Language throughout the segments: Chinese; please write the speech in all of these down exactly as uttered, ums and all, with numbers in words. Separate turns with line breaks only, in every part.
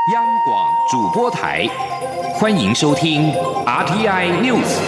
央广主播台，欢迎收听 R T I News。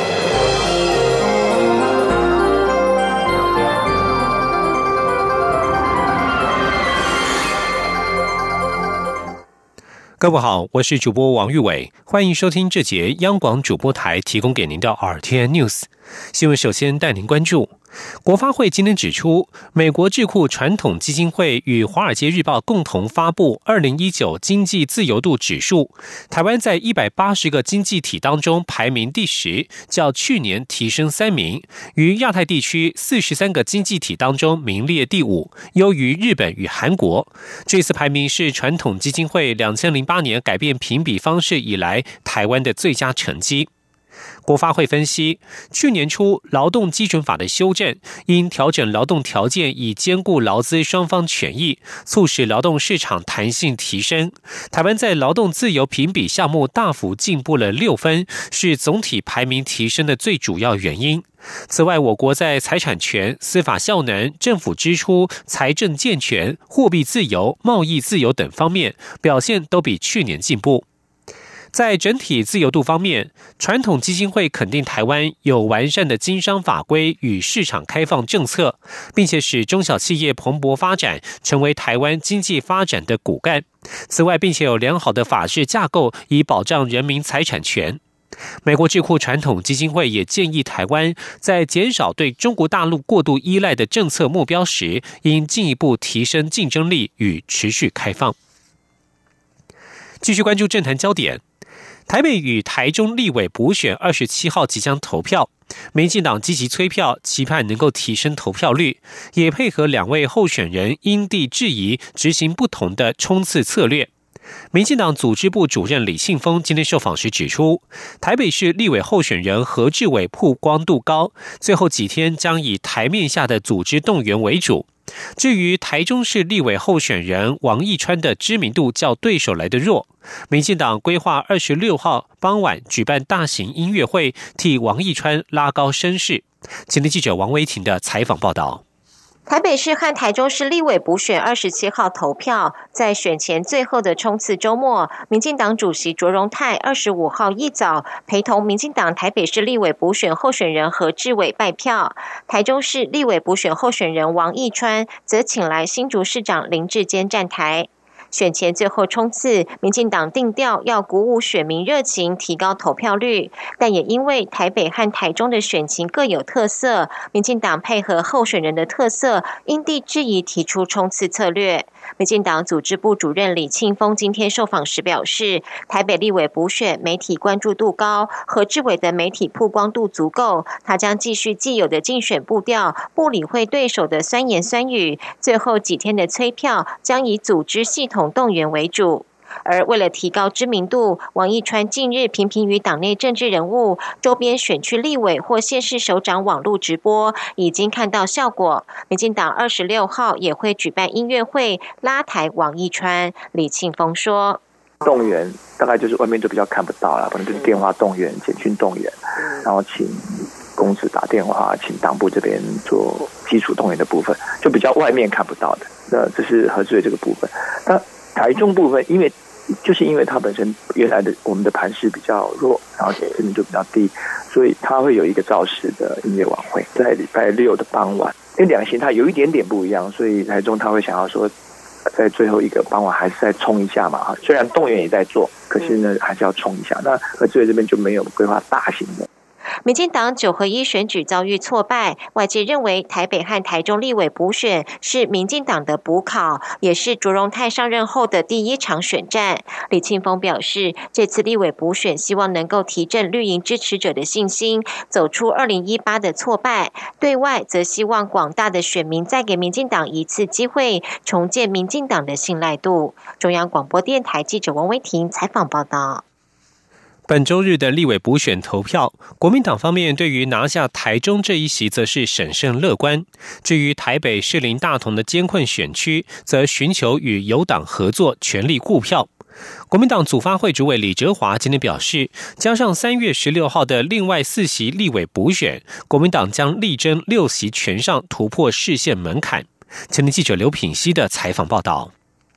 各位好，我是主播王玉伟，欢迎收听这节央广主播台提供给您的 R T I News 新闻。首先带您关注，国发会今天指出，美国智库传统基金会与华尔街日报共同发布二零一九经济自由度指数，台湾在一百八十个经济体当中排名第十，较去年提升三名，于亚太地区四十三个经济体当中名列第五，优于日本与韩国。这次排名是传统基金会两千零八年改变评比方式以来台湾的最佳成绩。国发会分析，去年初劳动基准法的修正，因调整劳动条件以兼顾劳资双方权益，促使劳动市场弹性提升。台湾在劳动自由评比项目大幅进步了六分，是总体排名提升的最主要原因。此外，我国在财产权、司法效能、政府支出、财政健全、货币自由、贸易自由等方面表现都比去年进步。在整体自由度方面，传统基金会肯定台湾有完善的经商法规与市场开放政策，并且使中小企业蓬勃发展，成为台湾经济发展的骨干。此外，并且有良好的法制架构以保障人民财产权。美国智库传统基金会也建议台湾在减少对中国大陆过度依赖的政策目标时，应进一步提升竞争力与持续开放。继续关注政坛焦点，台北与台中立委补选二十七号即将投票，民进党积极催票，期盼能够提升投票率，也配合两位候选人因地制宜执行不同的冲刺策略。民进党组织部主任李庆丰今天受访时指出，台北市立委候选人何志伟曝光度高，最后几天将以台面下的组织动员为主。至于台中市立委候选人王义川的知名度较对手来得弱，民进党规划二十六号傍晚举办大型音乐会，替王义川拉高声势。今天记者王维婷的采访报道。
台北市和台中市立委补选二十七号投票，在选前最后的冲刺周末，民进党主席卓荣泰二十五号一早陪同民进党台北市立委补选候选人何志伟拜票，台中市立委补选候选人王义川则请来新竹市长林智坚站台。选前最后冲刺，民进党定调要鼓舞选民热情，提高投票率，但也因为台北和台中的选情各有特色，民进党配合候选人的特色，因地制宜提出冲刺策略。民进党组织部主任李庆丰今天受访时表示，台北立委补选媒体关注度高，何志伟的媒体曝光度足够，他将继续既有的竞选步调，不理会对手的酸言酸语，最后几天的催票将以组织系统动员为主。而为了提高知名度，王义川近日频频与党内政治人物、周边选区立委或县市首长网络直播，已经看到效果。民进党二十六号也会举办音乐会，拉抬王义川。李庆丰说：“
动员大概就是外面就比较看不到了，可能就是电话动员、简讯动员，然后请公司打电话，请党部这边做基础动员的部分，就比较外面看不到的。那这是何志伟这个部分。那台中部分，因为就是因为它本身原来的我们的盘势比较弱，然后知名度比较低，所以它会有一个造势的音乐晚会，在礼拜六的傍晚。因为两个形态有一点点不一样，所以台中他会想要说，在最后一个傍晚还是再冲一下嘛。虽然动员也在做，可是呢还是要冲一下。那何志伟这边就没有规划大型的。
民进党九合一选举遭遇挫败，外界认为台北和台中立委补选是民进党的补考，也是卓荣泰上任后的第一场选战。李庆丰表示，这次立委补选希望能够提振绿营支持者的信心，走出二零一八的挫败。对外则希望广大的选民再给民进党一次机会，重建民进党的信赖度。中央广播电台记者王维婷采访报道。
本周日的立委补选投票，国民党方面对于拿下台中这一席则是审慎乐观。至于台北士林大同的艰困选区，则寻求与友党合作，全力顾票。国民党组发会主委李哲华今天表示，加上三月十六号的另外四席立委补选，国民党将力争六席全上，突破市县门槛。前天记者刘品熙的采访报道。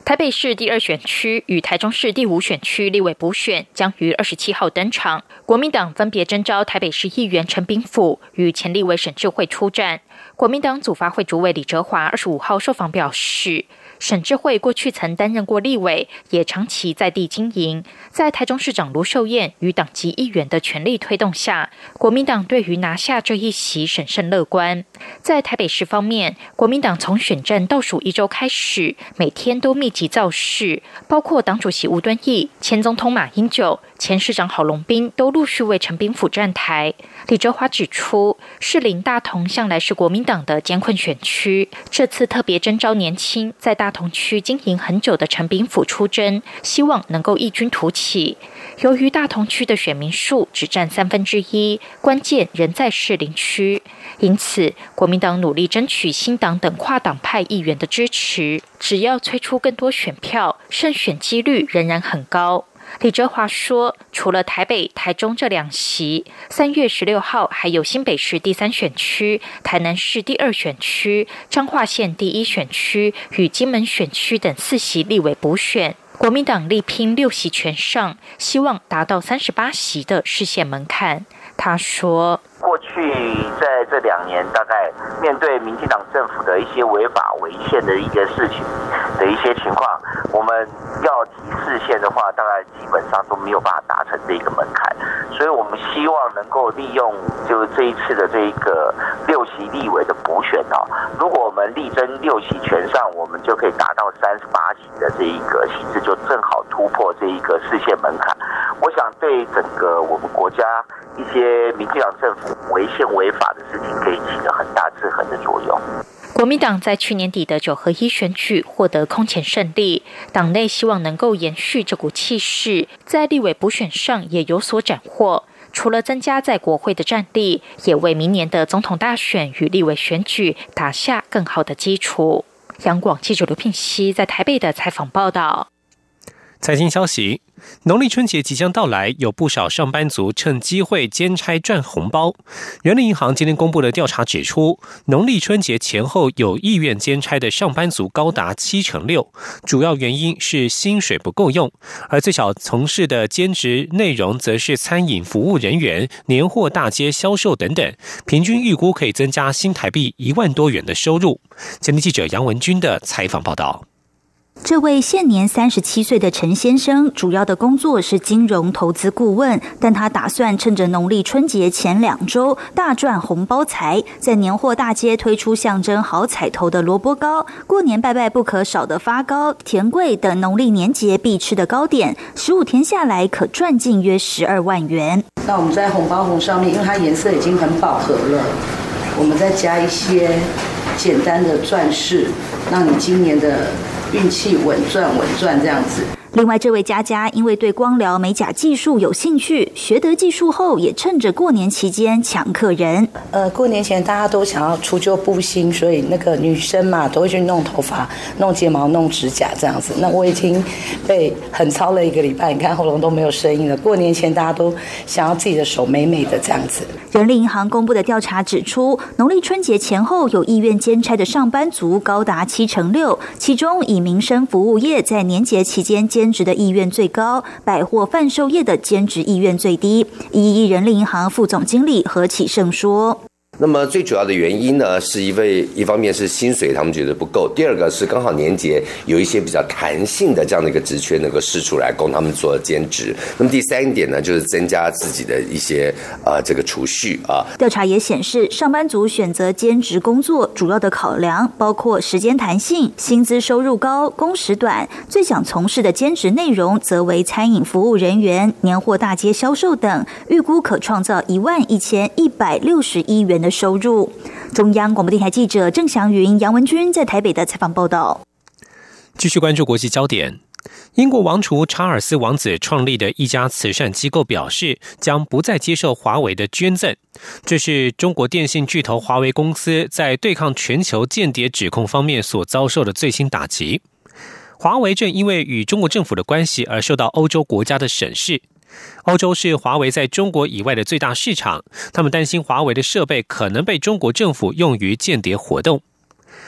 台北市第二选区与台中市第五选区立委补选将于二十七号登场，国民党分别征召台北市议员陈炳甫与前立委沈智慧出战。国民党组发会主委李哲华二十五号受访表示，沈智慧过去曾担任过立委，也长期在地经营。在台中市长卢秀燕与党籍议员的全力推动下，国民党对于拿下这一席审慎乐观。在台北市方面，国民党从选战倒数一周开始，每天都密集造势，包括党主席吴敦义、前总统马英九、前市长郝龙斌都陆续为陈炳甫站台。李哲华指出，士林大同向来是国民党的艰困选区，这次特别征召年轻在大同区经营很久的陈炳甫出征，希望能够异军突起。由于大同区的选民数只占三分之一，关键仍在士林区，因此国民党努力争取新党等跨党派议员的支持，只要催出更多选票，胜选几率仍然很高。李哲华说，除了台北、台中这两席，三月十六号还有新北市第三选区、台南市第二选区、彰化县第一选区与金门选区等四席立委补选。国民党力拼六席全上，希望达到三十八席的市县门槛。他说，
过去在这两年，大概面对民进党政府的一些违法违宪的一个事情的一些情况，我们要提市县的话，大概基本上都没有办法达成这个门槛，所以我们希望能够利用就这一次的这一个六席立委的补选啊，如果我们力争六席全上，我们就可以达到三十八席的这一个席次，就正好突破这一个市县门槛。我想对整个我们国家一些民进党政府违宪违法的事情，可以起了很大制衡的作用。
国民党在去年底的九合一选举获得空前胜利，党内希望能够延续这股气势，在立委补选上也有所斩获。除了增加在国会的战力，也为明年的总统大选与立委选举打下更好的基础。央广记者刘聘熙在台北的采访报道。
财经消息，农历春节即将到来，有不少上班族趁机会兼差赚红包。人力银行今天公布的调查指出，农历春节前后有意愿兼差的上班族高达七成六，主要原因是薪水不够用，而最少从事的兼职内容则是餐饮服务人员、年货大街销售等等，平均预估可以增加新台币一万多元的收入。前天记者杨文君的采访报道。
这位现年三十七岁的陈先生，主要的工作是金融投资顾问，但他打算趁着农历春节前两周大赚红包财，在年货大街推出象征好彩头的萝卜糕、过年拜拜不可少的发糕、甜粿等农历年节必吃的糕点，十五天下来可赚进约十二万元。
那我们在红包红上面，因为它颜色已经很饱和了，我们再加一些简单的钻饰，让你今年的运气稳赚稳赚这样子。
另外，这位佳佳因为对光疗美甲技术有兴趣，学得技术后也趁着过年期间抢客人。
呃，过年前大家都想要除旧布新，所以那个女生嘛都会去弄头发、弄睫毛、弄指甲这样子。那我已经被很操了一个礼拜，你看喉咙都没有声音了。过年前大家都想要自己的手美美的这样子。
人力银行公布的调查指出，农历春节前后有意愿兼差的上班族高达七成六，其中以民生服务业在年节期间兼职的意愿最高，百货贩售业的兼职意愿最低。一一人力银行副总经理何启胜说，
那么最主要的原因呢，是因为一方面是薪水他们觉得不够，第二个是刚好年节有一些比较弹性的这样的一个职缺能够释出来供他们做兼职。那么第三点呢，就是增加自己的一些呃这个储蓄啊。
调查也显示，上班族选择兼职工作主要的考量包括时间弹性、薪资收入高、工时短，最想从事的兼职内容则为餐饮服务人员、年货大街销售等，预估可创造一万一千一百六十一元的收入。中央广播电台记者郑祥云、杨文君在台北的采访报道。
继续关注国际焦点。英国王储查尔斯王子创立的一家慈善机构表示，将不再接受华为的捐赠。这是中国电信巨头华为公司在对抗全球间谍指控方面所遭受的最新打击。华为正因为与中国政府的关系而受到欧洲国家的审视。欧洲是华为在中国以外的最大市场，他们担心华为的设备可能被中国政府用于间谍活动。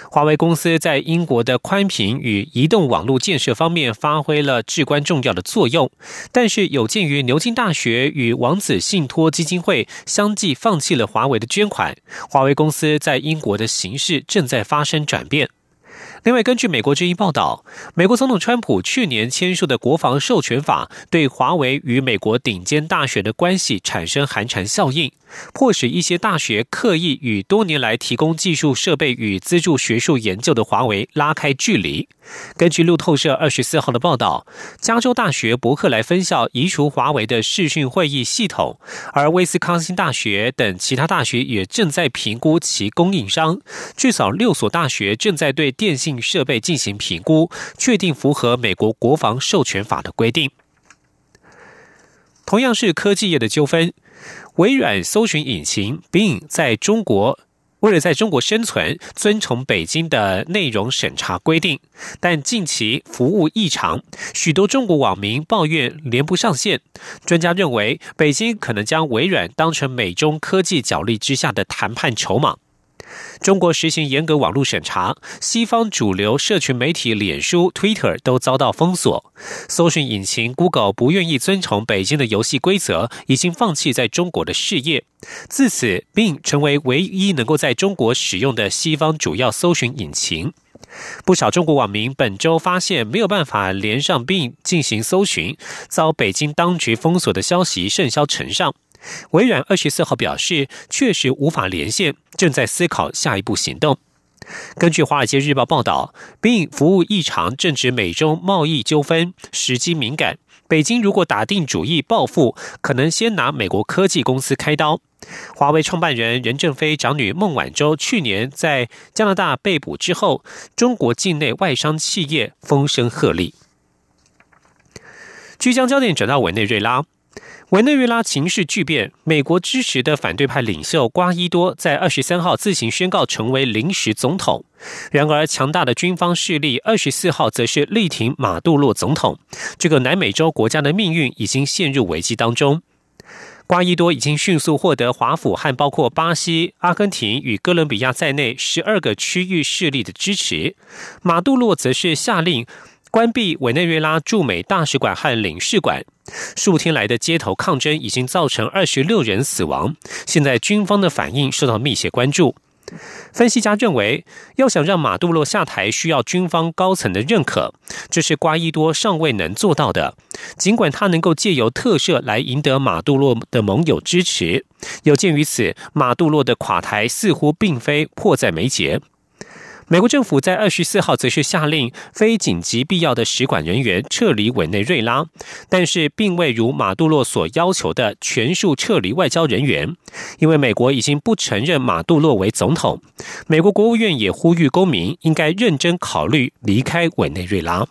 华为公司在英国的宽频与移动网络建设方面发挥了至关重要的作用，但是有鉴于牛津大学与王子信托基金会相继放弃了华为的捐款，华为公司在英国的形势正在发生转变。另外，根据美国之音报道，美国总统川普去年签署的国防授权法对华为与美国顶尖大学的关系产生寒蝉效应，迫使一些大学刻意与多年来提供技术设备与资助学术研究的华为拉开距离。根据路透社二十四号的报道，加州大学伯克莱分校移除华为的视讯会议系统，而威斯康星大学等其他大学也正在评估其供应商。至少六所大学正在对电信设备进行评估，确定符合美国国防授权法的规定。同样是科技业的纠纷，微软搜寻引擎 Bing 在中国为了在中国生存，遵从北京的内容审查规定，但近期服务异常，许多中国网民抱怨连不上线。专家认为，北京可能将微软当成美中科技角力之下的谈判筹码。中国实行严格网络审查，西方主流社群媒体脸书、Twitter 都遭到封锁。搜寻引擎 Google 不愿意遵从北京的游戏规则，已经放弃在中国的事业。自此 Bing 成为唯一能够在中国使用的西方主要搜寻引擎。不少中国网民本周发现没有办法连上 Bing 进行搜寻，遭北京当局封锁的消息甚嚣尘上。微软二十四号表示，确实无法连线，正在思考下一步行动。根据《华尔街日报》报道， Bing 服务异常正值美中贸易纠纷，时机敏感。北京如果打定主意报复，可能先拿美国科技公司开刀。华为创办人任正非长女孟晚舟去年在加拿大被捕之后，中国境内外商企业风声鹤唳。据将焦点转到委内瑞拉，委内瑞拉情势巨变，美国支持的反对派领袖瓜伊多在二十三号自行宣告成为临时总统。然而，强大的军方势力二十四号则是力挺马杜罗总统。这个南美洲国家的命运已经陷入危机当中。瓜伊多已经迅速获得华府和包括巴西、阿根廷与哥伦比亚在内十二个区域势力的支持。马杜罗则是下令关闭委内瑞拉驻美大使馆和领事馆。数天来的街头抗争已经造成二十六人死亡，现在军方的反应受到密切关注。分析家认为，要想让马杜罗下台，需要军方高层的认可，这是瓜伊多尚未能做到的。尽管他能够借由特赦来赢得马杜罗的盟友支持，有鉴于此，马杜罗的垮台似乎并非迫在眉睫。美国政府在二十四号则是下令非紧急必要的使馆人员撤离委内瑞拉，但是并未如马杜罗所要求的全数撤离外交人员，因为美国已经不承认马杜罗为总统。美国国务院也呼吁公民应该认真考虑离开委内瑞拉。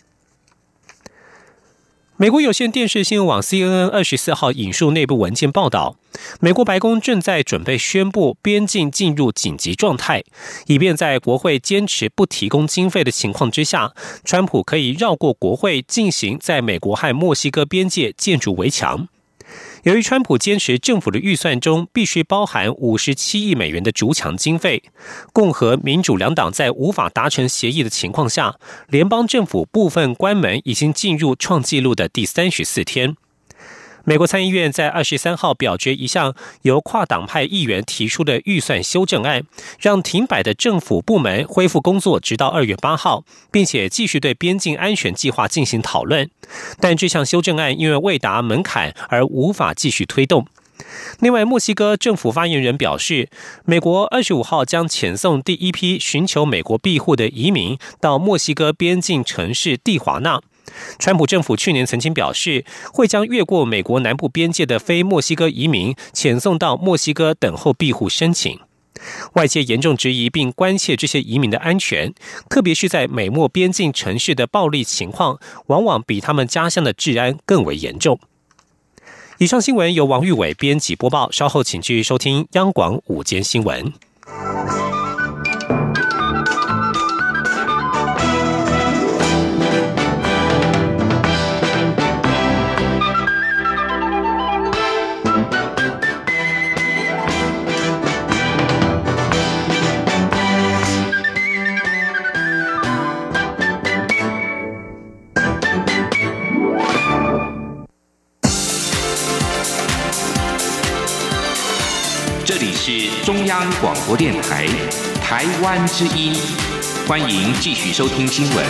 美国有线电视新闻网 C N N 二十四号引述内部文件报道，美国白宫正在准备宣布边境进入紧急状态，以便在国会坚持不提供经费的情况之下，川普可以绕过国会进行在美国和墨西哥边界建筑围墙。由于川普坚持政府的预算中必须包含五十七亿美元的筑墙经费，共和民主两党在无法达成协议的情况下，联邦政府部分关门已经进入创纪录的第三十四天。美国参议院在二十三号表决一项由跨党派议员提出的预算修正案，让停摆的政府部门恢复工作直到二月八号，并且继续对边境安全计划进行讨论。但这项修正案因为未达门槛而无法继续推动。另外，墨西哥政府发言人表示，美国二十五号将遣送第一批寻求美国庇护的移民到墨西哥边境城市蒂华纳。川普政府去年曾经表示，会将越过美国南部边界的非墨西哥移民遣送到墨西哥等候庇护申请。外界严重质疑并关切这些移民的安全，特别是在美墨边境城市的暴力情况，往往比他们家乡的治安更为严重。以上新闻由王玉伟编辑播报，稍后请继续收听央广午间新闻。
是中央广播电台台湾之音，欢迎继续收听新闻。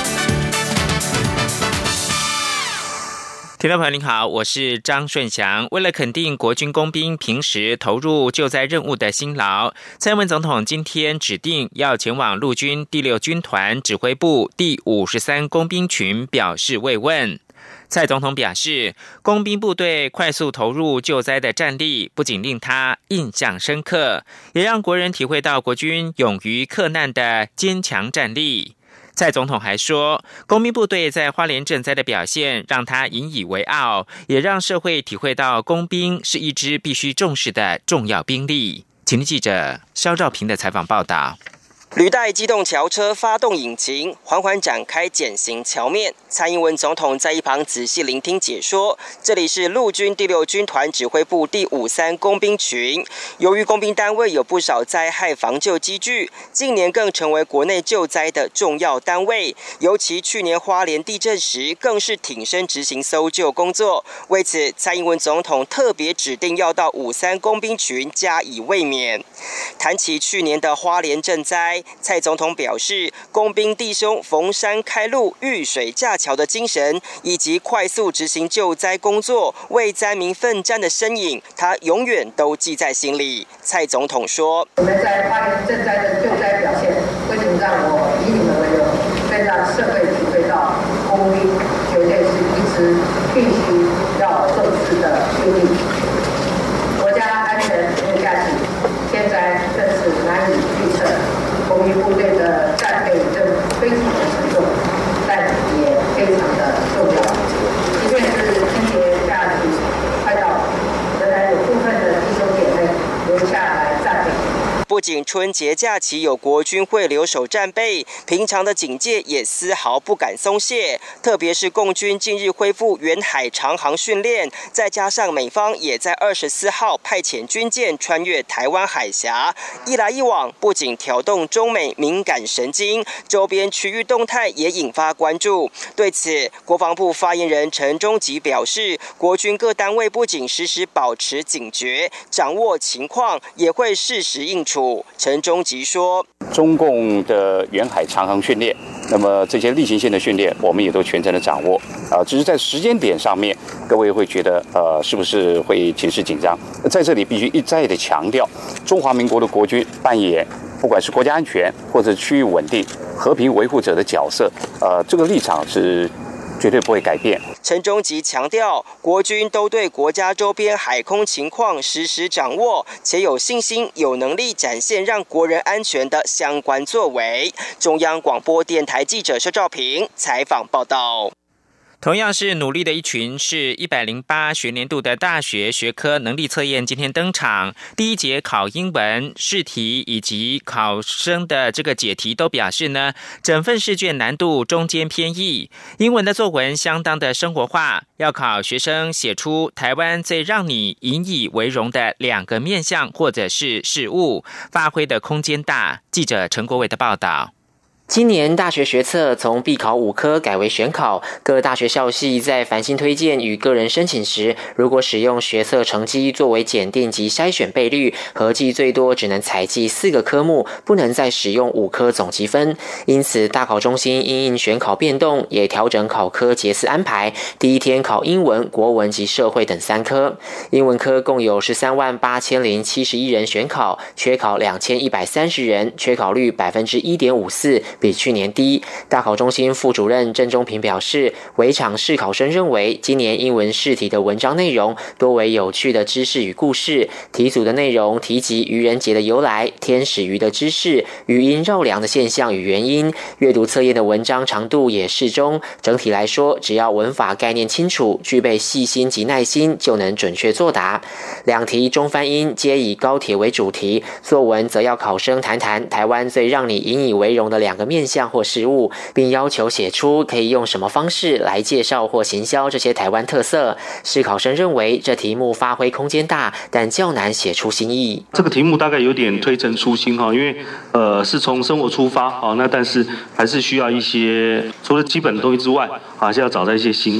听众朋友您好，我是张顺祥。为了肯定国军工兵平时投入救灾任务的辛劳，蔡英文总统今天指定要前往陆军第六军团指挥部第五十三工兵群表示慰问。蔡总统表示，工兵部队快速投入救灾的战力，不仅令他印象深刻，也让国人体会到国军勇于克难的坚强战力。蔡总统还说，工兵部队在花莲赈灾的表现让他引以为傲，也让社会体会到工兵是一支必须重视的重要兵力。请听记者肖兆平的采访报道。
履带机动桥车发动引擎，缓缓展开减刑桥面。蔡英文总统在一旁仔细聆听解说。这里是陆军第六军团指挥部第五三工兵群。由于工兵单位有不少灾害防救机具，近年更成为国内救灾的重要单位。尤其去年花莲地震时，更是挺身执行搜救工作。为此，蔡英文总统特别指定要到五三工兵群加以慰勉。谈起去年的花莲赈灾，蔡总统表示，工兵弟兄逢山开路、遇水架桥的精神，以及快速执行救灾工作、为灾民奋战的身影，他永远都记在心里。蔡总统说：“
我们在花莲赈灾的救灾表现，为什么让我以你们为荣，更让社会体会到工兵绝对是一支必须要重视的兵力。国家安全无价值，天灾更是难以预测。”工兵部队的战备任务非常的沉重，但也非常的重要。即便是春节假期快到，仍然有部分的弟兄姐妹留下来战备。
不仅春节假期有国军会留守战备，平常的警戒也丝毫不敢松懈。特别是共军近日恢复远海长航训练，再加上美方也在二十四号派遣军舰穿越台湾海峡，一来一往，不仅挑动中美敏感神经，周边区域动态也引发关注。对此，国防部发言人陈忠吉表示，国军各单位不仅时时保持警觉，掌握情况，也会适时应处。陈忠吉说：“
中共的远海长航训练，那么这些例行性的训练，我们也都全程的掌握。啊、呃，只是在时间点上面，各位会觉得呃，是不是会情势紧张？在这里必须一再的强调，中华民国的国军扮演不管是国家安全或者区域稳定、和平维护者的角色，呃，这个立场是绝对不会改变。”
陈忠吉强调，国军都对国家周边海空情况实时掌握，且有信心、有能力展现让国人安全的相关作为。中央广播电台记者施兆平采访报道。
同样是努力的一群，是一百零八学年度的大学学科能力测验今天登场。第一节考英文试题以及考生的这个解题都表示呢，整份试卷难度中间偏易。英文的作文相当的生活化，要考学生写出台湾最让你引以为荣的两个面向或者是事物，发挥的空间大。记者陈国伟的报道。今年大学学测从必考五科改为选考，各大学校系在繁星推荐与个人申请时，如果使用学测成绩作为检定及筛选倍率，合计最多只能采计四个科目，不能再使用五科总积分。因此，大考中心因应选考变动，也调整考科节次安排。第一天考英文、国文及社会等三科。英文科共有十三万八千零七十一人选考，缺考两千一百三十人，缺考率百分之一点五四。比去年低。大考中心副主任郑中平表示，围场试考生认为，今年英文试题的文章内容多为有趣的知识与故事，题组的内容提及愚人节的由来、天使鱼的知识、语音绕梁的现象与原因，阅读测验的文章长度也适中。整体来说，只要文法概念清楚，具备细心及耐心，就能准确作答。两题中翻英皆以高铁为主题，作文则要考生谈谈台湾最让你引以为荣的两个面向或事物，并要求写出可以用什么方式来介绍或行销这些台湾特色。试考生认为这题目发挥空间大，但较难写出新意。
这个题目大概有点推陈出新哈，因为呃是从生活出发啊，那但是还是需要一些除了基本的东西之外，还是要找到一些新意。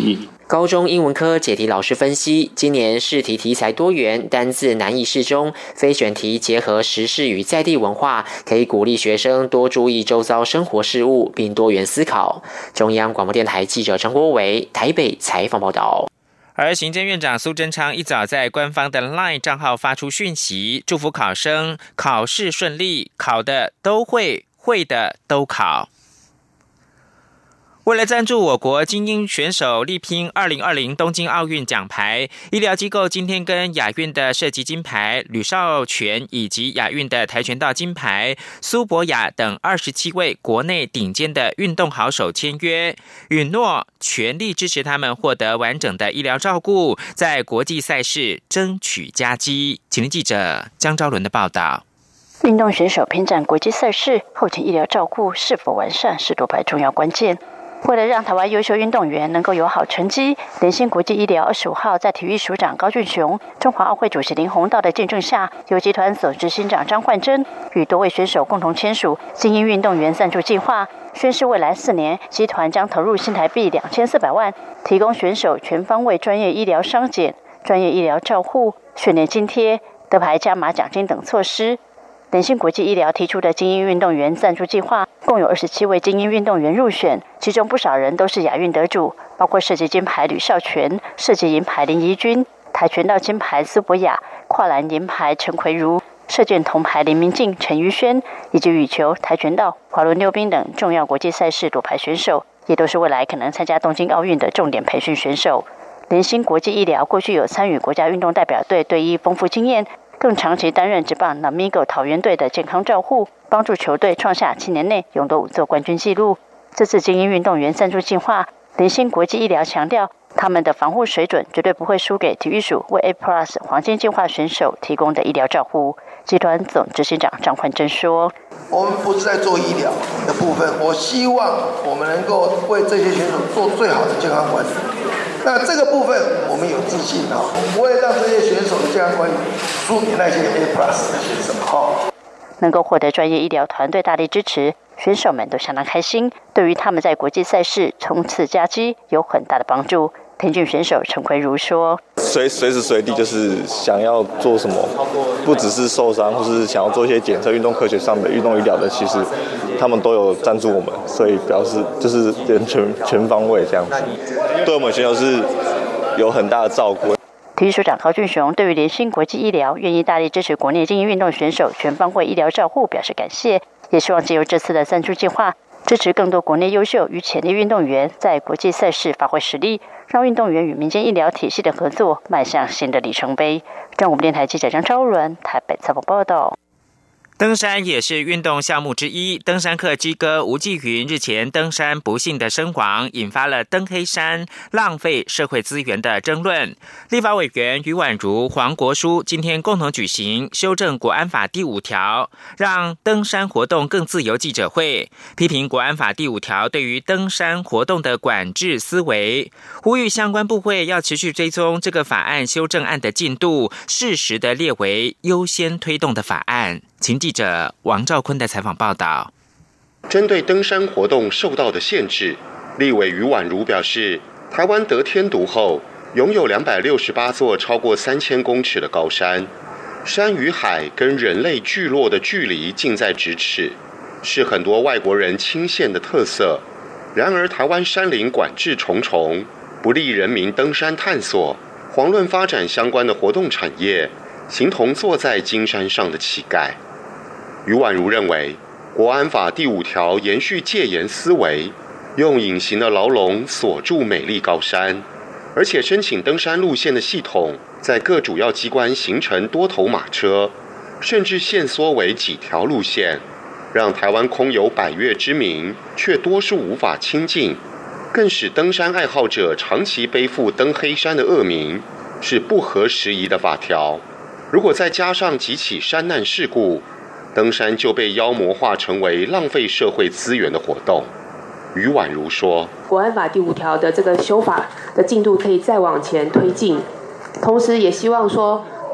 高中英文科解题老师分析，今年试题题材多元，单字难易适中，非选题结合时事与在地文化，可以鼓励学生多注意周遭生活事物，并多元思考。中央广播电台记者张国维台北采访报道。
而行政院长苏贞昌一早在官方的 LINE 账号发出讯息，祝福考生考试顺利，考的都会，会的都考。为了赞助我国精英选手力拼二零二零东京奥运奖牌，医疗机构今天跟亚运的射击金牌吕少全以及亚运的跆拳道金牌苏博雅等二十七位国内顶尖的运动好手签约，允诺全力支持他们获得完整的医疗照顾，在国际赛事争取佳绩。请听记者江昭伦的报道。
运动选手拼战国际赛事，后勤医疗照顾是否完善是夺牌重要关键。为了让台湾优秀运动员能够有好成绩，联兴国际医疗二十五号在体育署长高俊雄、中华奥会主席林鸿道的见证下，由集团总执行长张焕珍与多位选手共同签署精英运动员赞助计划，宣示未来四年集团将投入新台币两千四百万，提供选手全方位专业医疗伤检、专业医疗照护、训练津贴、得牌加码奖金等措施。联兴国际医疗提出的精英运动员赞助计划，共有二十七位精英运动员入选，其中不少人都是亚运得主，包括射击金牌吕少全、射击银牌林怡君、跆拳道金牌苏博雅、跨栏银牌陈奎如、射箭铜牌林明静、陈瑜轩，以及羽球、跆拳道、滑轮溜冰等重要国际赛事夺牌选手，也都是未来可能参加东京奥运的重点培训选手。联兴国际医疗过去有参与国家运动代表队队医丰富经验，更长期担任职棒 Namigo 桃园队的健康照护，帮助球队创下七年内勇夺五座冠军纪录。这次精英运动员赞助计划，联兴国际医疗强调，他们的防护水准绝对不会输给体育署为 A Plus 黄金计划选手提供的医疗照护。集团总执行长张焕珍说：“
我们不是在做医疗的部分，我希望我们能够为这些选手做最好的健康管理。那这个部分我们有自信啊，我们不会让这些选手的健康管理输给那些 A Plus 的选手。哈，
能够获得专业医疗团队大力支持，选手们都相当开心，对于他们在国际赛事冲刺佳绩有很大的帮助。”田径选手陈奎如说：“
随随时随地就是想要做什么，不只是受伤，或是想要做一些检测、运动科学上的运动医疗的，其实他们都有赞助我们，所以表示就是人全全方位这样子，对我们选手是有很大的照顾。”
体育署长高俊雄对于联兴国际医疗愿意大力支持国内精英运动选手全方位医疗照护表示感谢，也希望借由这次的赞助计划，支持更多国内优秀与潜力运动员在国际赛事发挥实力，让运动员与民间医疗体系的合作迈向新的里程碑。中国电台记者张昭伦台北采访报道。
登山也是运动项目之一，登山客之歌吴继云日前登山不幸的身亡，引发了登黑山浪费社会资源的争论。立法委员于婉如、黄国书今天共同举行修正国安法第五条，让登山活动更自由记者会，批评国安法第五条对于登山活动的管制思维，呼吁相关部会要持续追踪这个法案修正案的进度，适时的列为优先推动的法案。请记者王兆坤的采访报道。
针对登山活动受到的限制，立委于婉如表示，台湾得天独厚，拥有两百六十八座超过三千公尺的高山，山与海跟人类聚落的距离近在咫尺，是很多外国人倾羡的特色。然而，台湾山林管制重重，不利人民登山探索，遑论发展相关的活动产业，形同坐在金山上的乞丐。于婉如认为，国安法第五条延续戒严思维，用隐形的牢笼锁住美丽高山，而且申请登山路线的系统在各主要机关形成多头马车，甚至限缩为几条路线，让台湾空有百岳之名，却多数无法亲近，更使登山爱好者长期背负登黑山的恶名，是不合时宜的法条。如果再加上几起山难事故，登山就被妖魔化成为浪费社会资源的活动。于婉如说，
国安法第五条的这个修法的进度可以再往前推进，同时也希望说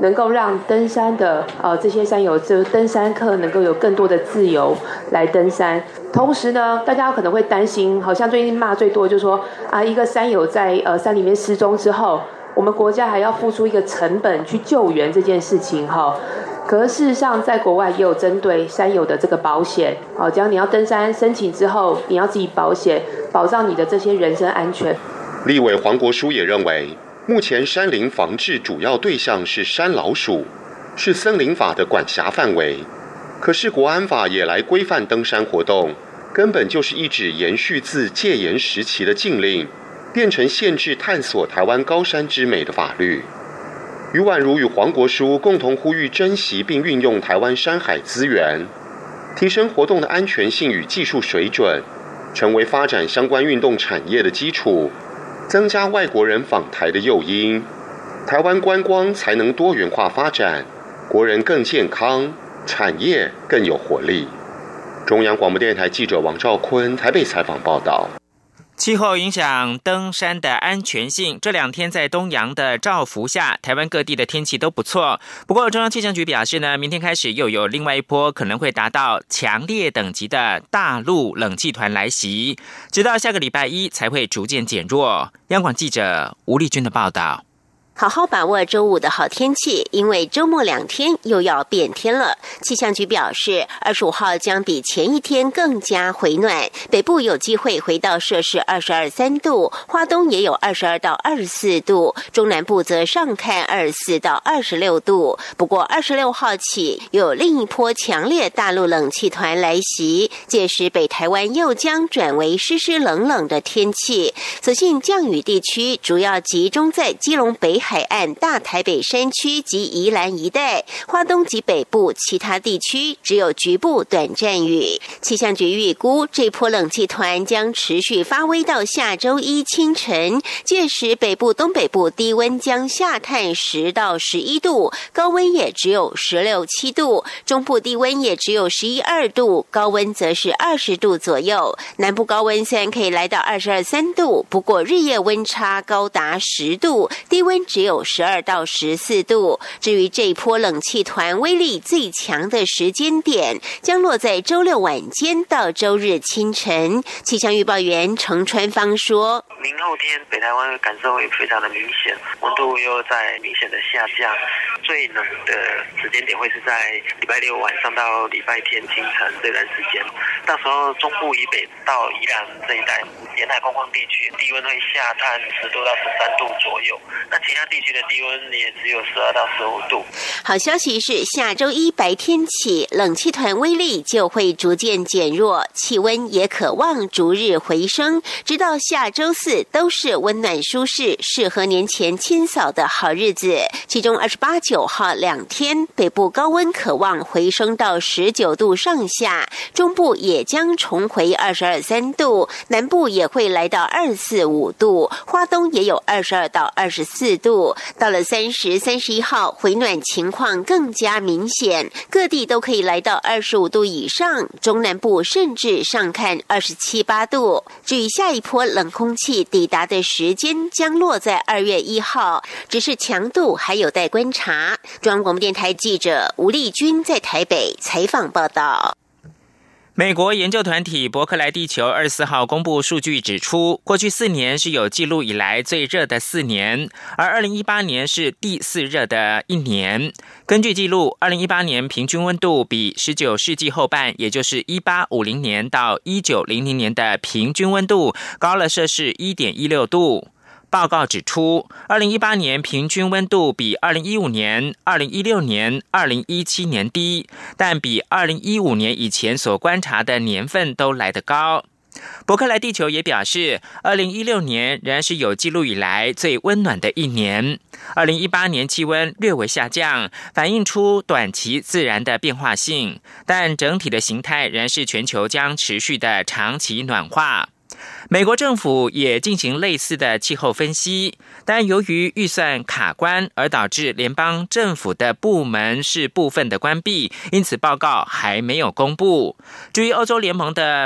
能够让登山的呃这些山友，就登山客能够有更多的自由来登山。同时呢，大家可能会担心，好像最近骂最多就是说啊，一个山友在呃山里面失踪之后，我们国家还要付出一个成本去救援这件事情哈。可是事实上，在国外也有针对山友的这个保险，好，只要你要登山申请之后，你要自己保险，保障你的这些人身安全。
立委黄国书也认为，目前山林防治主要对象是山老鼠，是森林法的管辖范围。可是国安法也来规范登山活动，根本就是一纸延续自戒严时期的禁令，变成限制探索台湾高山之美的法律。于婉如与黄国书共同呼吁珍惜并运用台湾山海资源，提升活动的安全性与技术水准，成为发展相关运动产业的基础，增加外国人访台的诱因，台湾观光才能多元化发展，国人更健康，产业更有活力。中央广播电台记者王兆坤台北采访报道。
气候影响登山的安全性，这两天在东洋的照拂下，台湾各地的天气都不错。不过中央气象局表示呢，明天开始又有另外一波可能会达到强烈等级的大陆冷气团来袭，直到下个礼拜一才会逐渐减弱。央广记者吴丽君的报道。
好好把握周五的好天气，因为周末两天又要变天了。气象局表示，二十五号将比前一天更加回暖，北部有机会回到摄氏二十二三度，花东也有二十二到二十四度，中南部则上看二十四到二十六度。不过二十六号起有另一波强烈大陆冷气团来袭，届时北台湾又将转为湿湿冷冷的天气。所幸降雨地区主要集中在基隆北海岸、大台北山区及宜兰一带，花东及北部其他地区只有局部短暂雨。气象局预估，这波冷气团将持续发威到下周一清晨，届时北部、东北部低温将下探十到十一度，高温也只有十六七度；中部低温也只有十一二度，高温则是二十度左右。南部高温虽然可以来到二十二三度，不过日夜温差高达十度，低温只有十二到十四度。至于这一波冷气团威力最强的时间点，将落在周六晚间到周日清晨。气象预报员程川芳说，
明后天北台湾感受会非常的明显，温度又在明显的下降，最冷的时间点会是在礼拜六晚上到礼拜天清晨这段时间。到时候中部以北到宜兰这一带沿海空旷地区低温会下探十度到十三度左右，那其他地区的低温也只有十二到十五度。
好消息是，下周一白天起，冷气团威力就会逐渐减弱，气温也可望逐日回升，直到下周四都是温暖舒适、适合年前清扫的好日子。其中二十八、九号两天，北部高温可望回升到十九度上下，中部也将重回二十二三度，南部也会来到二十四五度，花东也有二十二到二十四度。到了三十、三十一号，回暖情况更加明显，各地都可以来到二十五度以上，中南部甚至上看二十七八度。至于下一波冷空气抵达的时间，将落在二月一号，只是强度还有待观察。中央广播电台记者吴丽君在台北采访报道。
美国研究团体伯克莱地球二十四号公布数据指出，过去四年是有记录以来最热的四年，而二零一八年是第四热的一年。根据记录，二零一八年平均温度比十九世纪后半，也就是一八五零年到一九零零年的平均温度高了摄氏 一点一六度。报告指出，二零一八年平均温度比二零一五年、二零一六年、二零一七年低，但比二零一五年以前所观察的年份都来得高。伯克莱地球也表示，二零一六年仍然是有记录以来最温暖的一年。二零一八年气温略微下降，反映出短期自然的变化性，但整体的形态仍然是全球将持续的长期暖化。美国政府也进行类似的气候分析，但由于预算卡关而导致联邦政府的部门是部分的关闭，因此报告还没有公布。至于欧洲联盟的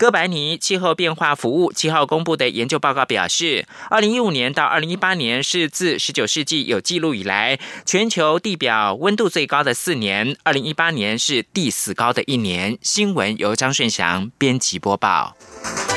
哥白尼气候变化服务七号公布的研究报告表示，二零一五年到二零一八年是自十九世纪有记录以来全球地表温度最高的四年，二零一八年是第四高的一年。新闻由张顺祥编辑播报。